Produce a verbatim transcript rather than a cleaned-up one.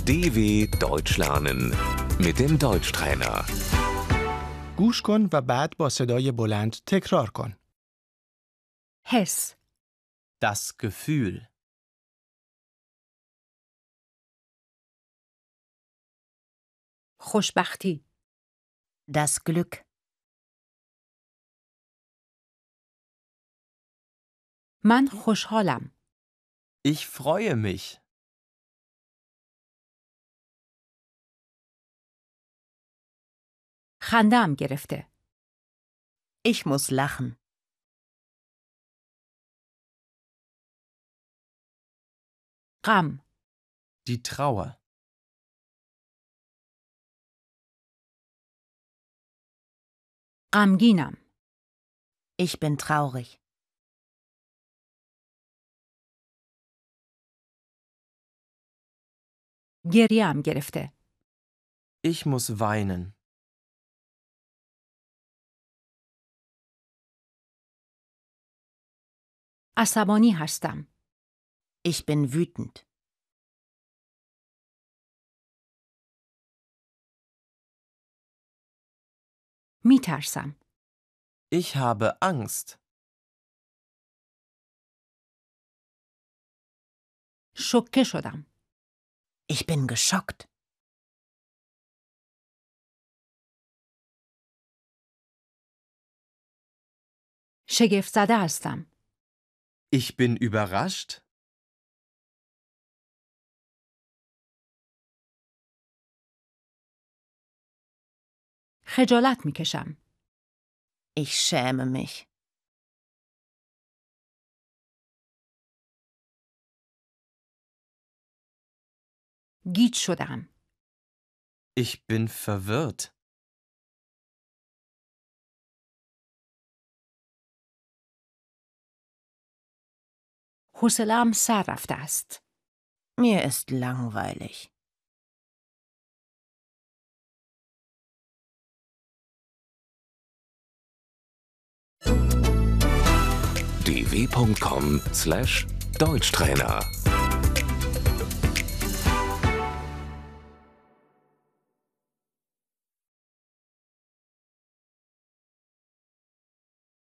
D W Deutsch lernen mit dem Deutschtrainer. گوش کن و بعد با صدای بلند تکرار کن. حس، Das Gefühl. خوشبختی، Das Glück. من خوشحالم. Ich freue mich. خنده‌ام گرفته. Ich muss lachen. غم، Die Trauer. غمگینم. Ich bin traurig. گریه‌ام گرفته. Ich muss weinen. عصبانی هستم. Ich bin wütend. میترسم. Ich habe Angst. شوکه شدم. Ich bin geschockt. شگفت زده هستم. Ich bin überrascht. خجالت میکشم. Ich schäme mich. گیج شدم. Ich bin verwirrt. حوصله‌ام سر رفته است. Mir ist langweilig. d w punkt com slash Deutschtrainer